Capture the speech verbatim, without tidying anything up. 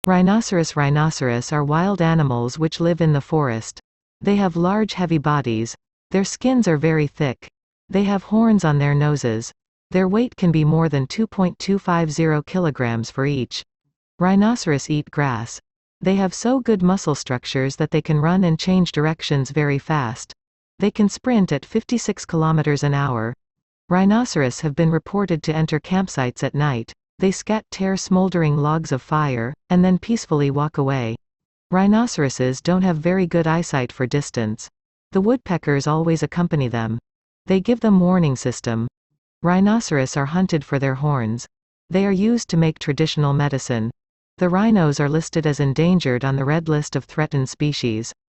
Rhinoceros Rhinoceros are wild animals which live in the forest. They have large heavy bodies. Their skins are very thick. They have horns on their noses. Their weight can be more than two point two five zero kilograms for each. Rhinoceros eat grass. They have so good muscle structures that they can run and change directions very fast. They can sprint at fifty-six kilometers an hour. Rhinoceros have been reported to enter campsites at night. They scat tear smoldering logs of fire, and then peacefully walk away. Rhinoceroses don't have very good eyesight for distance. The woodpeckers always accompany them. They give them warning system. Rhinoceros are hunted for their horns. They are used to make traditional medicine. The rhinos are listed as endangered on the Red List of Threatened Species.